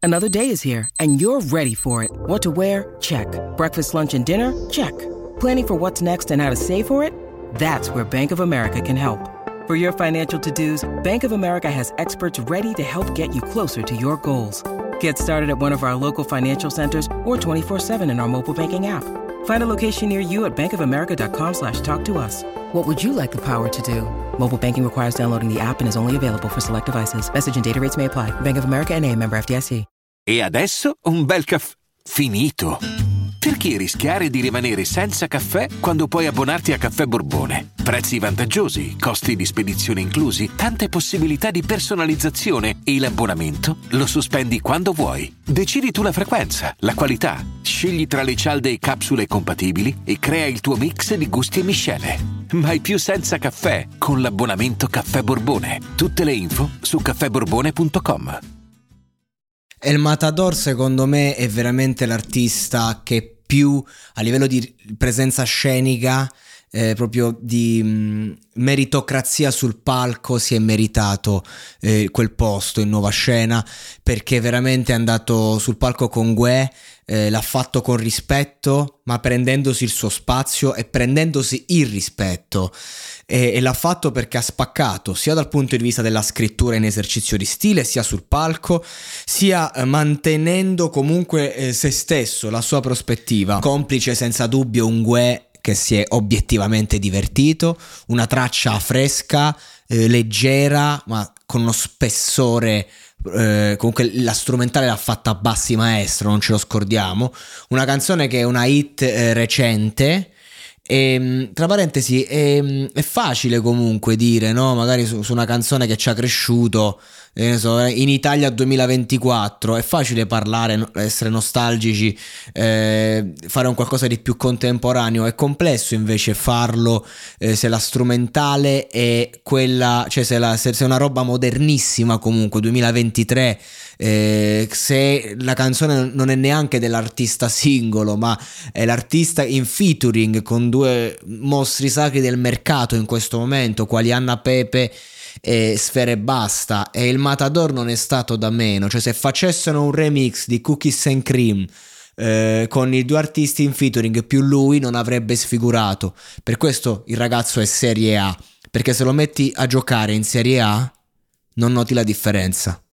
Another day is here, and you're ready for it. What to wear? Check. Breakfast, lunch, and dinner? Check. Planning for what's next and how to save for it? That's where Bank of America can help. For your financial to-dos, Bank of America has experts ready to help get you closer to your goals. Get started at one of our local financial centers or 24/7 in our mobile banking app. Find a location near you at bankofamerica.com/talktous. What would you like the power to do? Mobile banking requires downloading the app and is only available for select devices. Message and data rates may apply. Bank of America N.A., member FDIC. E adesso un bel caffè finito. Perché rischiare di rimanere senza caffè quando puoi abbonarti a Caffè Borbone? Prezzi vantaggiosi, costi di spedizione inclusi, tante possibilità di personalizzazione e l'abbonamento lo sospendi quando vuoi. Decidi tu la frequenza, la qualità, scegli tra le cialde e capsule compatibili e crea il tuo mix di gusti e miscele. Mai più senza caffè con l'abbonamento Caffè Borbone. Tutte le info su caffèborbone.com. El Matador secondo me è veramente l'artista che più a livello di presenza scenica, proprio di meritocrazia sul palco, si è meritato quel posto in nuova scena, perché veramente è andato sul palco con Guè, l'ha fatto con rispetto, ma prendendosi il suo spazio e prendendosi il rispetto, e l'ha fatto perché ha spaccato sia dal punto di vista della scrittura in esercizio di stile, sia sul palco, sia mantenendo comunque se stesso, la sua prospettiva. Complice senza dubbio un Guè che si è obiettivamente divertito, una traccia fresca, leggera, ma con uno spessore. Comunque la strumentale l'ha fatta a Bassi Maestro, non ce lo scordiamo, una canzone che è una hit recente. E, tra parentesi, è facile comunque dire, no? Magari su una canzone che ci ha cresciuto, in Italia 2024 è facile parlare, essere nostalgici, fare un qualcosa di più contemporaneo. È complesso invece farlo se la strumentale è quella, cioè se è una roba modernissima, comunque 2023, se la canzone non è neanche dell'artista singolo, ma è l'artista in featuring con due mostri sacri del mercato in questo momento, quali Anna Pepe e Sfera Ebbasta, e il Matador non è stato da meno. Cioè, se facessero un remix di Cookies and Cream con i due artisti in featuring più lui, non avrebbe sfigurato. Per questo il ragazzo è Serie A, perché se lo metti a giocare in Serie A non noti la differenza.